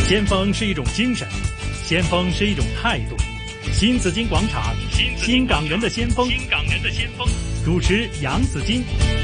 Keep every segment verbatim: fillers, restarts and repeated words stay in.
先鋒是一種精神，先鋒是一種態度。新紫荊廣場，新港人的先鋒，新港人的先鋒。主持楊紫荊。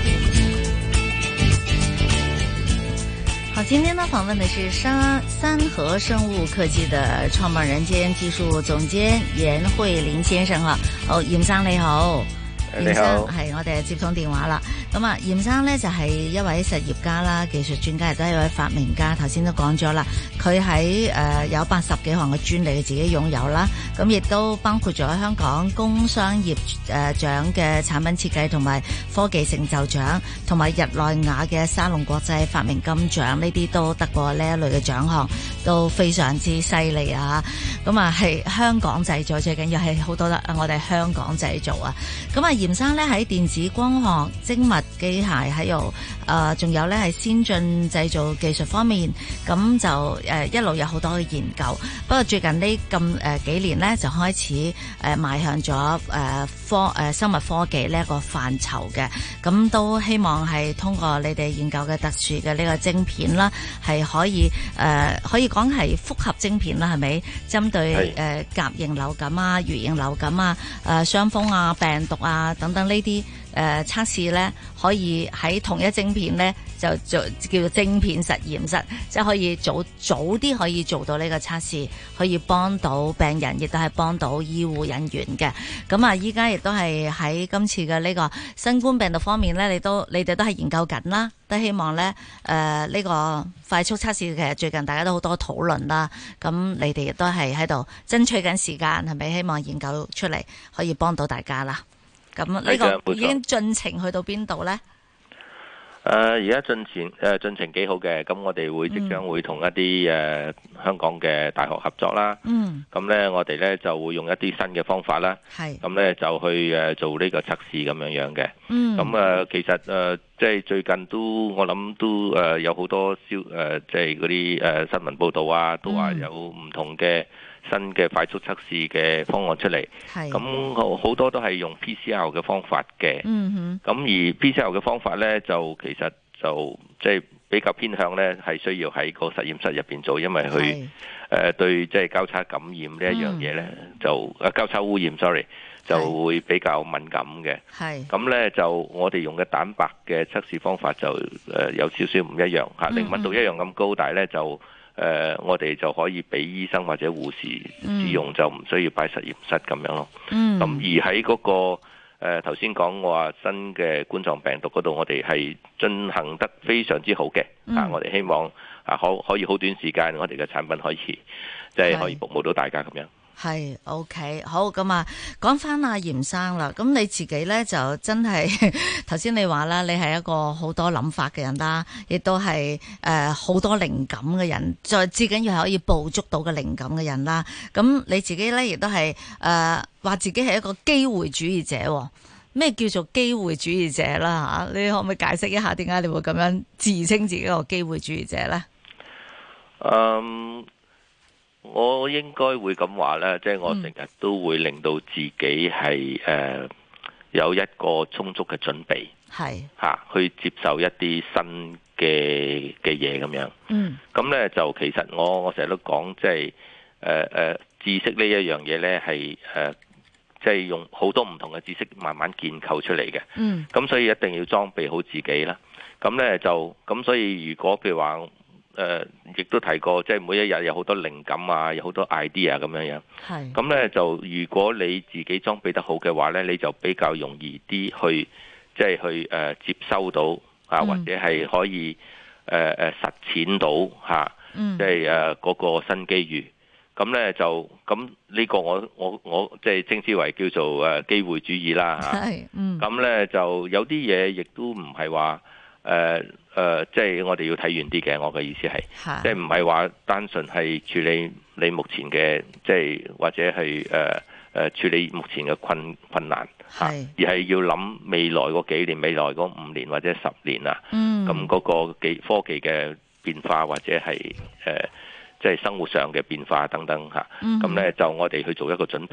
好，今天呢訪問的是三三和生物科技的創辦人兼技術總監嚴慧林先生哈。好，嚴生你好。嚴生係我哋接通電話啦。咁啊，嚴生呢就係一位實業家啦，技術專家，亦都係一位發明家。頭先都講咗啦，佢喺誒有八十幾項嘅專利佢自己擁有啦。咁亦都包括咗香港工商業誒獎嘅產品設計同埋科技成就獎，同埋日內瓦嘅沙龍國際發明金獎，呢啲都得過呢一類嘅獎項，都非常之犀利啊！咁啊，係香港製造，最緊要係好多得我哋香港製造啊！咁啊，嚴生咧喺電子光學、精密機械，喺度誒，仲有咧係先進製造技術方面，咁就誒一路有好多嘅研究。不過最近呢咁誒幾年咧，就開始誒邁向咗誒科誒生物科技呢一個範疇嘅，咁都希望係通過你哋研究嘅特殊嘅呢個晶片啦，係可以誒可以講係複合晶片啦，係咪？針對誒甲型流感啊、乙型流感啊、誒傷風啊、病毒啊等等呢啲誒測試咧，可以喺同一晶片咧就做叫做晶片實驗室，即係可以早早啲可以做到呢個測試，可以幫到病人，亦都係幫到醫護人員嘅。咁啊，依家亦都係喺今次嘅呢個新冠病毒方面咧，你都你哋都係研究緊啦，都希望咧誒呢個快速測試其實最近大家都好多討論啦。咁你哋亦都係喺度爭取緊時間，係咪希望研究出嚟可以幫到大家啦？咁呢個已經進程去到邊度呢？ 誒而家進程誒進程幾好嘅，咁我哋會即將會同一啲誒、呃、香港嘅大學合作啦。嗯，咁咧我哋咧就會用一啲新嘅方法啦。係，咁咧就去誒做呢個測試咁樣樣嘅。嗯，咁誒、呃、其實誒、呃、即係最近都我諗都誒、呃、有好多消誒、呃、即係嗰啲誒新聞報導啊，都話有唔同嘅新嘅快速測試嘅方案出嚟，咁好好多都係用 P C R 嘅方法嘅。嗯哼，咁而 P C R 嘅方法呢，就其實就即係比較偏向呢，係需要喺個實驗室入邊做，因為佢誒、呃、對即係交叉感染呢一樣嘢呢，嗯、就誒交叉污染，sorry，就會比較敏感嘅。係，咁呢，就我哋用嘅蛋白嘅測試方法就誒、呃、有少少唔一樣嚇，靈敏度一樣咁高，但係呢就。誒、呃，我哋就可以俾醫生或者護士使用，嗯、就唔需要擺實驗室咁樣咯。嗯，咁而喺嗰、那個誒頭先講我話新嘅冠狀病毒嗰度，我哋係進行得非常之好嘅。嗯、啊，我哋希望啊可可以好短時間，我哋嘅產品可以即係、就是、可以服務到大家咁樣。 係 OK 好，咁啊，講翻阿嚴生啦。咁你自己咧就真係頭先你話啦，你係一個好多諗法嘅人啦，亦都係誒好多靈感嘅人，再至緊要係可以捕捉到嘅靈感嘅人啦。咁你自己咧亦都係誒話自己係一個機會主義者。咩叫做機會主義者啦？吓，你可唔可以解釋一下點解你會咁樣自稱自己一個機會主義者咧？ 嗯。我應該會咁話咧，即係我成日都會令到自己係誒、呃、有一個充足嘅準備，係嚇、啊、去接受一啲新嘅嘅嘢咁樣。嗯，咁咧就其實我我成日都講，即係誒誒知識呢一樣嘢咧係誒即係用好多唔同嘅知識慢慢建構出嚟嘅。嗯，咁所以一定要裝備好自己啦。咁咧就咁，所以如果譬如話，誒，亦、呃、都提過，即係每一日有好多靈感啊，有好多 idea 咁樣樣。係。咁咧就，如果你自己裝備得好嘅話咧，你就比較容易啲去，即係去誒、呃、接收到啊，或者係可以誒誒、呃、實踐到嚇，即係誒嗰個新機遇。咁咧就，咁呢個我我我即係稱之為叫做誒機會主義啦嚇。係。嗯。咁咧就有啲嘢亦都唔係話誒。呃誒、呃，即係我哋要睇遠啲嘅，我嘅意思係，即係唔係話單純係處理你目前嘅，即係或者係誒誒處理目前嘅困困難嚇，而係要諗未來嗰幾年、未來嗰五年或者十年啊，咁嗰、嗯、個技科技嘅變化或者係誒、呃、即係生活上嘅變化等等嚇，咁咧、嗯、就我哋去做一個準備咯。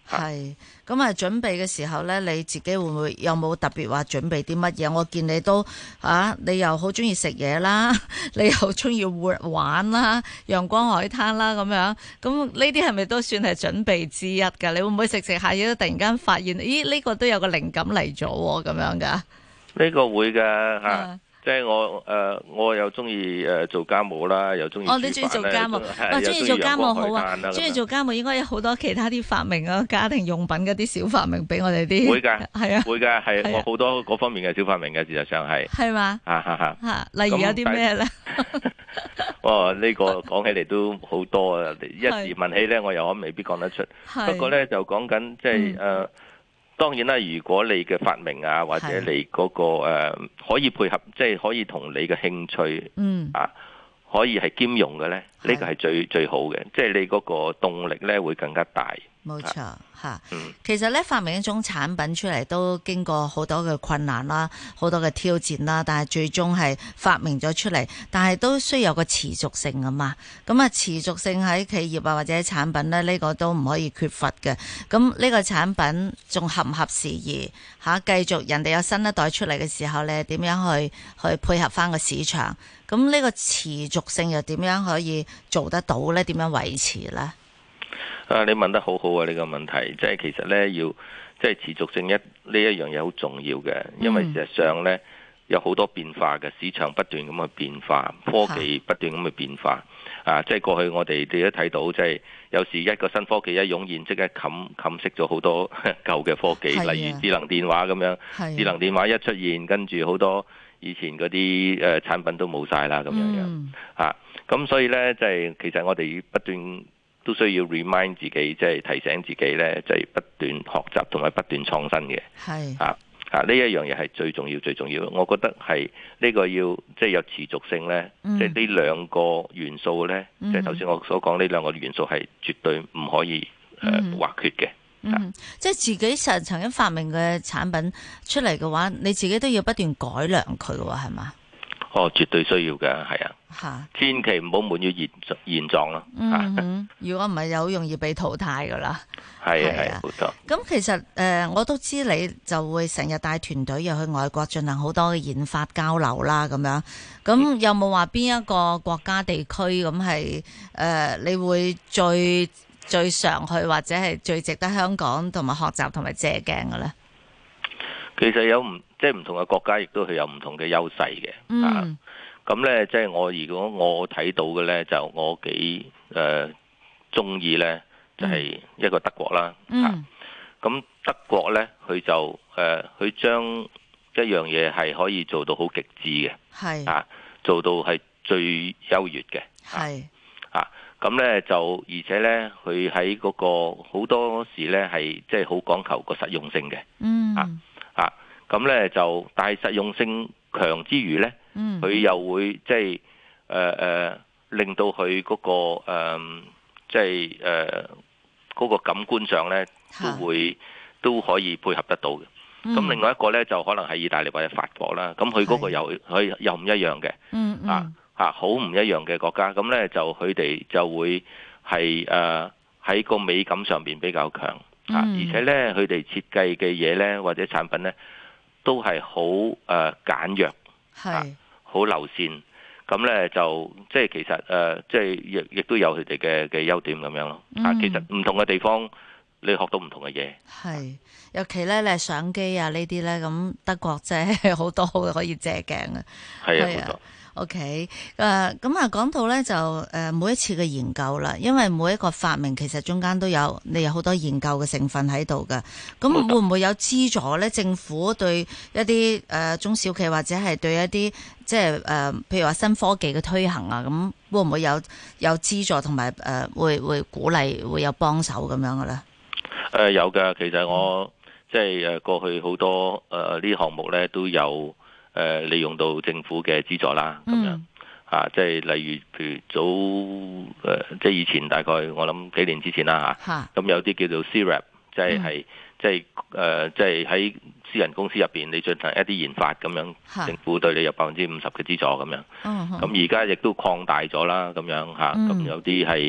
係咁啊！準備嘅時候咧，你自己會唔會有冇特別話準備啲乜嘢？我見你都啊，你又好中意食嘢啦，你又中意玩啦，陽光海灘啦咁樣。咁呢啲係咪都算係準備之一噶？你會唔會食食下嘢都突然間發現，咦呢個都有個靈感嚟咗咁樣噶？ 呢個會噶吓。啊即係我誒、呃，我又中意誒做家務啦，又中意煮飯咧。哦，你中意做家務，哇！中意做家務好啊，中意做家務應該有好多其他啲發明啊，家庭用品嗰啲小發明俾我哋啲。會㗎，係啊，會㗎，係我好多嗰方面嘅小發明嘅，事實上係。係嘛？嚇嚇嚇嚇！例如有啲咩咧？哦，呢、這個講起嚟都好多啊！一時問起咧，我又未必講得出。不過咧，就講緊即係誒。嗯當然啦，如果你嘅發明啊，或者你嗰、那個誒、呃、可以配合，即係可以同你嘅興趣，嗯啊，可以係兼容嘅咧，呢、這個係最最好嘅，即係你嗰個動力咧會更加大。 冇錯吓，其實咧發明一種產品出嚟都經過好多嘅困難啦，好多嘅挑戰啦，但係最終係發明咗出嚟，但係都需要有個持續性啊嘛。咁啊，持續性喺企業啊或者產品咧，呢、這個都唔可以缺乏嘅。咁呢個產品仲合唔合時宜吓？繼續人哋有新一代出嚟嘅時候咧，點樣去去配合翻個市場？咁呢個持續性又點樣可以做得到咧？點樣維持咧？ 啊！你問得好好啊！呢、這個問題即係其實咧，要即係持續性一呢一樣嘢好重要嘅，因為事實上咧有好多變化嘅，市場不斷咁去變化，科技不斷咁去變化。啊！即係過去我哋哋都睇到，即係有時一個新科技一湧現，即係冚冚熄咗好多舊嘅科技，例如智能電話咁樣。智能電話一出現，跟住好多以前嗰啲誒產品都冇晒啦，咁樣樣。嗯、啊！咁所以咧，即係其實我哋不斷都需要 remind 自己，即係提醒自己咧，即係不斷學習同埋不斷創新嘅。係啊啊！呢一樣嘢係最重要、最重要。我覺得係呢個要即係有持續性咧，嗯、即係呢兩個元素咧，嗯、即係頭先我所講呢兩個元素係絕對唔可以誒或缺嘅。 嗯，嗯即係自己實曾經發明嘅產品出嚟嘅話，你自己都要不斷改良佢嘅話，係嘛？ 哦，絕對需要嘅，係啊，哈千祈唔好滿於現現狀咯。 嗯，如果唔係，就好容易被淘汰噶啦。 係啊，係啊，冇錯。 咁其實誒、呃，我都知你就會成日帶團隊又去外國進行好多嘅研發交流啦，咁樣。咁有冇話邊一個國家地區咁係誒？你會最最常去或者係最值得香港同埋學習同埋借鏡嘅咧？ 其實有唔即係唔同嘅國家，亦都係有唔同嘅優勢嘅。嗯、啊，咁咧即係我如果我睇到嘅咧，就我幾誒中意咧，就係、是、一個德國啦。嗯，咁、啊、德國咧，佢就誒佢將一樣嘢係可以做到好極致嘅，係是啊，做到係最優越嘅，係啊，咁咧就而且咧，佢喺嗰個好多時咧係即係好講求個實用性嘅。嗯啊。啊，咁咧就，但係實用性強之餘咧，佢、嗯、又會即係誒誒，令到佢嗰、那個誒，即係誒嗰個感官上咧，都會是都可以配合得到嘅。咁、嗯、另外一個咧，就可能係意大利或者法國啦。咁佢嗰個又佢是又唔一樣嘅，嗯嗯、啊啊，好唔一樣嘅國家。咁咧就佢哋就會係誒喺個美感上邊比較強。啊！而且咧，佢哋設計嘅嘢咧，或者產品咧，都係好誒簡約，係好流線。咁咧就即係其實誒、呃，即係亦亦都有佢哋嘅嘅優點咁樣咯。啊，其實唔同嘅地方，你學到唔同嘅嘢。係， 尤其咧，你相機啊呢啲咧，咁德國真係好多可以借鏡嘅。係啊，冇錯。OK，誒咁啊，講到咧就誒每一次嘅研究啦，因為每一個發明其實中間都有你有好多研究嘅成分喺度㗎。咁會唔會有資助咧？政府對一啲誒、呃、中小企或者係對一啲即係誒，譬如話新科技嘅推行啊，咁會唔會有有資助同埋誒會會鼓勵會有幫手咁樣嘅咧？誒、 呃、有㗎，其實我即係誒過去好多誒呢啲項目咧都有。誒、呃、利用到政府嘅資助啦，咁樣、嗯、啊，即係例如譬如早誒、呃，即係以前大概我諗幾年之前啦嚇，咁、啊、有啲叫做 C R A P，即係係即係誒，即係喺私人公司入邊你進行一啲研發咁樣，哈政府對你有百分之五十嘅資助咁樣。咁而家亦都擴大咗啦，咁樣嚇，咁、啊、有啲係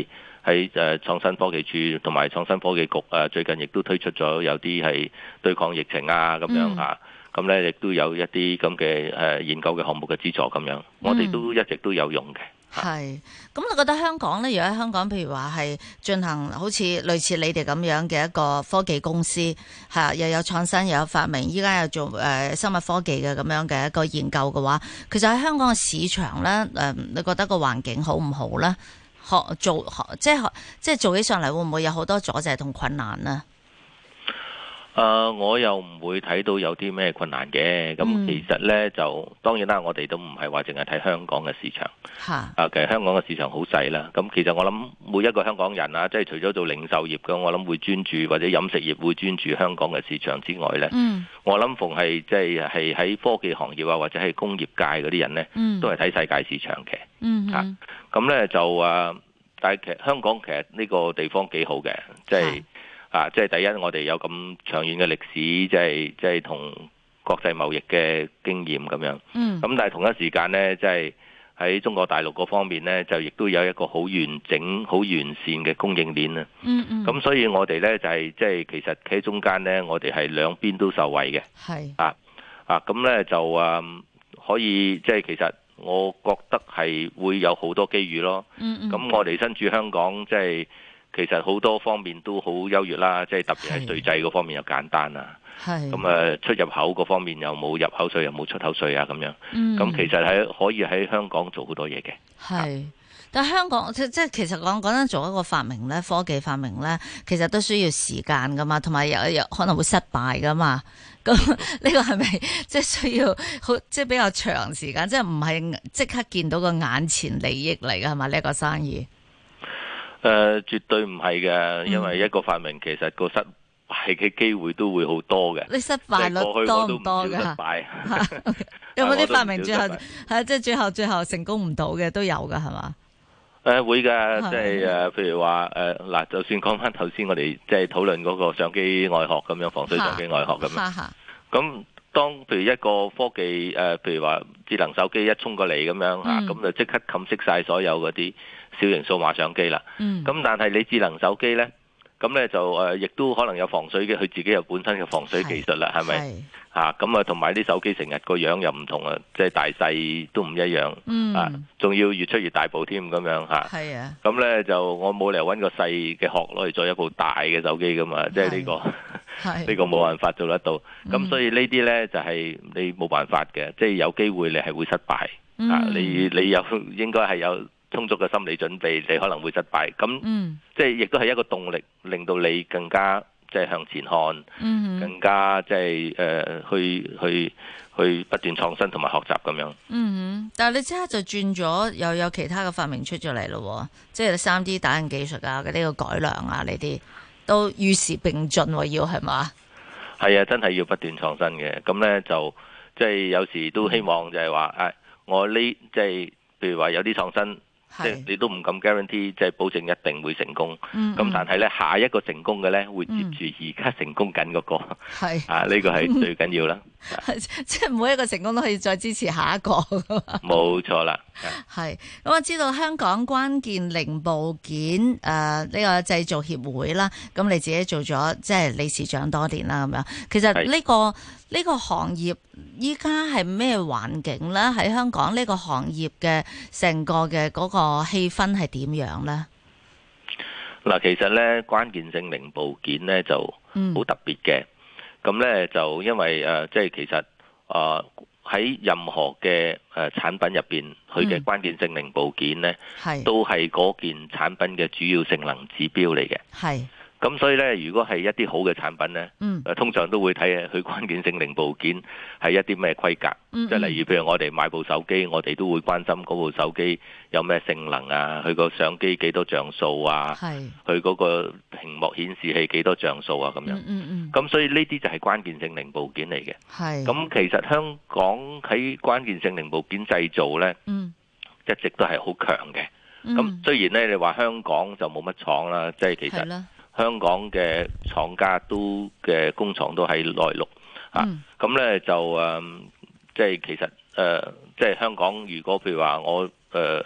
喺誒創新科技處同埋創新科技局誒最近亦都推出咗有啲係對抗疫情啊咁樣嚇。咁咧亦都有一啲咁嘅誒研究嘅項目嘅資助咁樣，我哋都一直都有用嘅。 係，咁你覺得香港咧？如果喺香港，譬如話係進行好似類似你哋咁樣嘅一個科技公司，係又有創新又有發明，依家又做誒、呃、生物科技嘅咁樣嘅一個研究嘅話，其實喺香港嘅市場咧，誒、呃，你覺得個環境好唔好咧？學做學即係學即係做起上嚟，會唔會有好多阻滯同困難呢？ 誒、呃，我又唔會睇到有啲咩困難嘅。咁其實呢，就當然啦，我哋都唔係話淨係睇香港嘅市場。嚇、啊！其實香港嘅市場好細啦。咁其實我諗每一個香港人啊，即係除咗做零售業嘅，我諗會專注或者飲食業會專注香港嘅市場之外呢，嗯、我諗逢係即係係喺科技行業啊，或者係工業界嗰啲人呢，嗯、都係睇世界市場嘅。嗯哼。咁咧、啊、就誒，但係其實香港其實呢個地方幾好嘅，即係。啊！即係第一，我哋有咁長遠嘅歷史，即係即係同國際貿易嘅經驗咁樣。嗯。咁但係同一時間呢，即係喺中國大陸嗰方面呢，就亦都有一個好完整、好完善嘅供應鏈啊。嗯嗯。咁所以我哋呢，就係即係其實企喺中間呢，我哋係兩邊都受惠嘅。係。啊啊！咁呢就誒、嗯、可以即係其實我覺得係會有好多機遇咯。嗯嗯。咁我哋身處香港，即係。其實好多方面都好優越啦，即係特別係稅制嗰方面又簡單啦。係咁誒，出入口嗰方面又冇入口稅，又冇出口稅啊，咁樣。嗯。咁其實喺可以喺香港做好多嘢嘅。係， 但係香港即即係其實講講緊做一個發明咧，科技發明咧，其實都需要時間噶嘛，同埋有有可能會失敗噶嘛。咁呢個係咪即係需要好即係比較長時間？即係唔係即刻見到個眼前利益嚟㗎係嘛？呢一個生意？ 誒、呃，絕對唔係嘅，因為一個發明其實個失敗嘅機會都會好多嘅。 你失敗率多唔多噶？失敗有冇啲發明最後係即係最後最後成功唔到嘅都有噶係嘛？ 誒、呃，會噶，即係誒，譬如話誒嗱，就算講翻頭先我哋即係討論嗰個相機外殼咁樣，防水相機外殼咁樣。咁當譬如一個科技誒、呃，譬如話智能手機一衝過嚟咁樣吓，咁、嗯、就即刻冚熄晒所有嗰啲小型數碼相機啦，咁、嗯、但係你智能手機呢，咁呢就誒，亦、呃、都可能有防水嘅，佢自己有本身嘅防水技術啦，係咪？嚇，咁啊，同埋啲手機成日個樣又唔同啊，即係大細都唔一樣，嗯、啊，仲要越出越大部添咁樣嚇。係啊，咁呢就我冇理由揾個細嘅殼攞嚟做一部大嘅手機噶嘛，即係呢個呢個冇辦法做得到。咁、嗯、所以呢啲呢，就係、是、你冇辦法嘅，即、就、係、是、有機會你係會失敗，嗯、啊，你你有應該係有充足嘅心理準備，你可能會失敗。咁、嗯、即係亦都係一個動力，令到你更加即係向前看，嗯、更加即係誒去去去不斷創新同埋學習咁樣。嗯， 但係你即刻就轉咗，又有其他嘅發明出咗嚟咯，即係三 D 打印技術啊，嘅呢個改良啊，呢啲都與時並進，要係嘛？ 係啊，真係要不斷創新嘅。咁咧就即係有時都希望就係話誒，我呢即係譬如話有啲創新。即係你都唔敢 guarantee，即係保證一定會成功。咁、嗯嗯、但係咧，下一個成功嘅咧，會接住而家成功緊嗰、那個。係、嗯、啊，呢、這個係最緊要啦。 即係每一個成功都可以再支持下一個。 冇錯啦。 係咁，我知道香港關鍵零部件誒呢、呃這個製造協會啦，咁你自己做咗即係理事長多年啦，咁樣。其實呢、這個呢是個行業依家係咩環境咧？喺香港呢個行業嘅成個嘅嗰個氣氛係點樣咧？ 嗱，其實咧關鍵性零部件咧就好特別嘅。咁咧、嗯、就因為誒、呃，即係其實啊。呃喺任何嘅誒產品入邊，佢嘅關鍵性零部件咧，嗯、都係嗰件產品嘅主要性能指標嚟嘅。係。咁所以咧，如果係一啲好嘅產品咧，誒、嗯、通常都會睇下佢關鍵性零部件係一啲咩規格。即係、嗯嗯、例如，譬如我哋買部手機，我哋都會關心嗰部手機有咩性能啊，佢個相機幾多像素啊，佢嗰是個屏幕顯示器幾多像素啊，咁樣。咁、嗯嗯、所以呢啲就係關鍵性零部件嚟嘅。咁是其實香港喺關鍵性零部件製造咧，嗯、一直都係好強嘅。咁、嗯、雖然咧，你話香港就冇乜廠啦，即係其實。香港嘅廠家都嘅工廠都喺內陸、嗯、啊，咁咧就誒，即、呃、係其實誒，即、呃、係香港如果譬如話我誒，即、呃、係、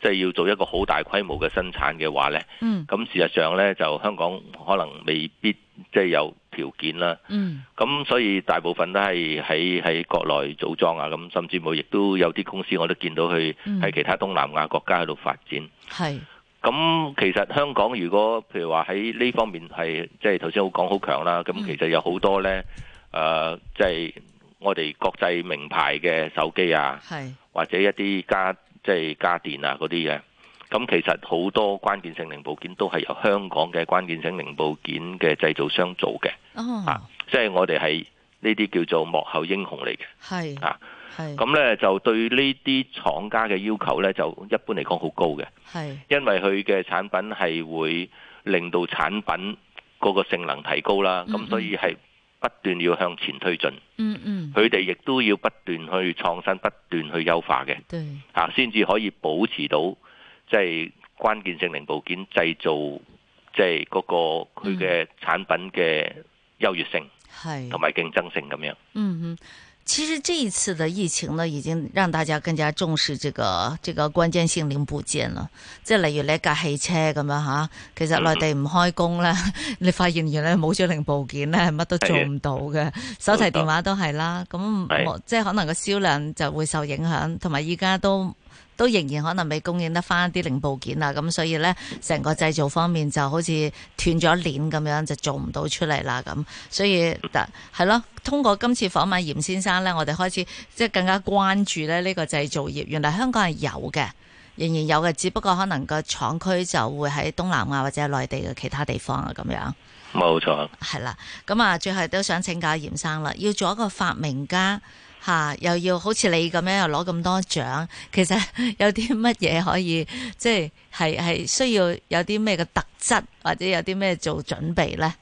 即係要做一個好大規模嘅生產嘅話呢，咁、嗯、事實上呢，就香港可能未必即係有條件啦。咁、嗯、所以大部分都係喺喺國內組裝啊，咁甚至乎亦都有啲公司我都見到去喺其他東南亞國家喺度發展。係、嗯。咁其實香港如果譬如話喺呢方面係即係頭先好講好強啦，咁其實有好多呢，誒即係我哋國際名牌嘅手機啊，或者一啲家即係家電啊嗰啲嘅，咁其實好多關鍵性零部件都係由香港嘅關鍵性零部件嘅製造商做嘅。哦，啊，即係我哋係呢啲叫做幕後英雄嚟嘅。係啊，係。咁咧就對呢啲廠家嘅要求咧，就一般嚟講好高嘅。係，因為佢嘅產品係會令到產品嗰個性能提高啦，咁、嗯嗯、所以係不斷要向前推進。嗯嗯，佢哋亦都要不斷去創新，不斷去優化嘅。對，嚇先至可以保持到即係關鍵性零部件製造，即係嗰個佢嘅產品嘅優越性，係同埋競爭性咁樣。 嗯嗯。其實這一次的疫情呢，已經讓大家更加重視這個這個關鍵性零部件啦。即係例如你一架汽車咁樣吓，其實內地唔開工咧，嗯、你發現原來冇咗零部件咧，乜都做唔到嘅。手提電話都係啦，咁即係可能個銷量就會受影響，同埋依家都。都仍然可能未供應得翻啲零部件啊，咁所以呢，成個製造方面就好似斷咗鏈咁樣，就做唔到出嚟啦咁。所以係咯，通過今次訪問嚴先生呢，我哋開始即係更加關注咧呢個製造業。原來香港係有嘅，仍然有嘅，只不過可能個廠區就會喺東南亞或者內地嘅其他地方啊咁樣。 冇錯。 係啦，咁啊，最後都想請教嚴生啦，要做一個發明家。吓、啊，又要好似你咁樣又攞咁多獎，其實有啲乜嘢可以即係係係需要有啲咩嘅特質，或者有啲咩做準備咧？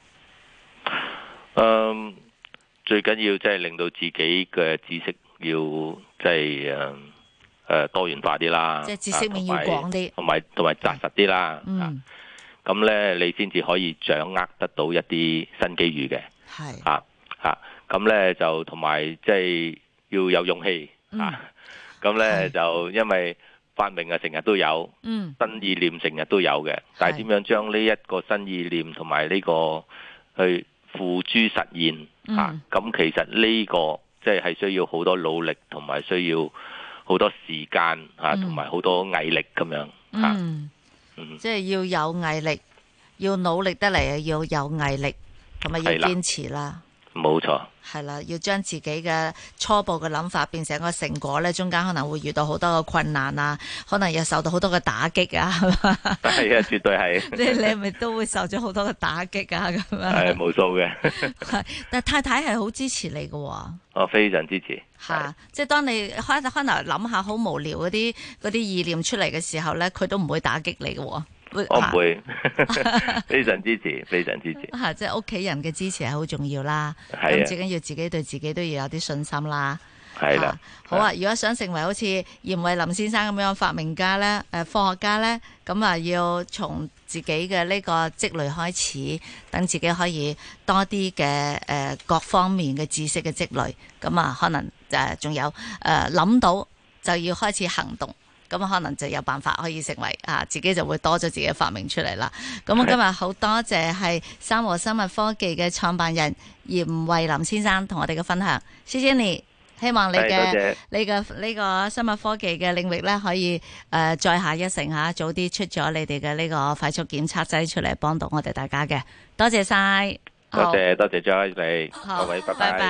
嗯，最緊要即係令到自己嘅知識要即係誒誒多元化啲啦， 即係知識面要廣啲， 同埋同埋紮實啲啦。嗯，咁咧你先至可以掌握得到一啲新機遇嘅。係啊啊，咁咧就同埋即係。要有勇氣、嗯、啊！咁咧就因為發明啊，成日都有，嗯、新意念成日都有嘅。但係點樣將呢一個新意念同埋呢個去付諸實現、嗯、啊？咁其實呢個即係係需要好多努力，同埋需要好多時間啊，同埋好多毅力咁樣啊。 嗯嗯、即係要有毅力，要努力得嚟啊！要有毅力，同埋要堅持啦。 冇錯， 係啦，要將自己嘅初步嘅諗法變成一個成果咧，中間可能會遇到好多嘅困難啊，可能又受到好多嘅打擊啊，係嘛？ 係啊，絕對係。 即係你係咪都會受咗好多嘅打擊啊？咁樣係無數嘅。 係，但係太太係好支持你嘅。 我非常支持。 吓，即係當你開開頭諗下好無聊嗰啲嗰啲意念出嚟嘅時候咧，佢都唔會打擊你嘅。 我唔會，非常支持，非常支持。 吓，即係屋企人嘅支持係好重要啦。咁最緊要自己對自己都要有啲信心啦。係啦，好啊！如果想成為好似嚴惠霖先生咁樣發明家咧，誒，科學家咧，咁啊，要從自己嘅呢個積累開始，等自己可以多啲嘅誒各方面嘅知識嘅積累。咁啊，可能誒仲有誒諗到就要開始行動。咁可能就有辦法可以成為啊，自己就會多咗自己嘅發明出嚟啦。咁我今日好多謝係三和生物科技嘅創辦人嚴惠霖先生同我哋嘅分享，謝謝你。希望你嘅你嘅呢個生物科技嘅領域咧，可以誒、呃、再下一城吓，早啲出咗你哋嘅呢個快速檢測劑出嚟，幫到我哋大家嘅。多謝晒， 多謝多謝 Joy 你，各位拜拜。